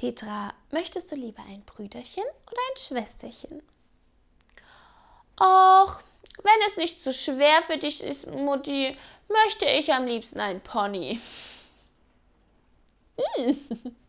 Petra, möchtest du lieber ein Brüderchen oder ein Schwesterchen? Och, wenn es nicht zu schwer für dich ist, Mutti, möchte ich am liebsten ein Pony.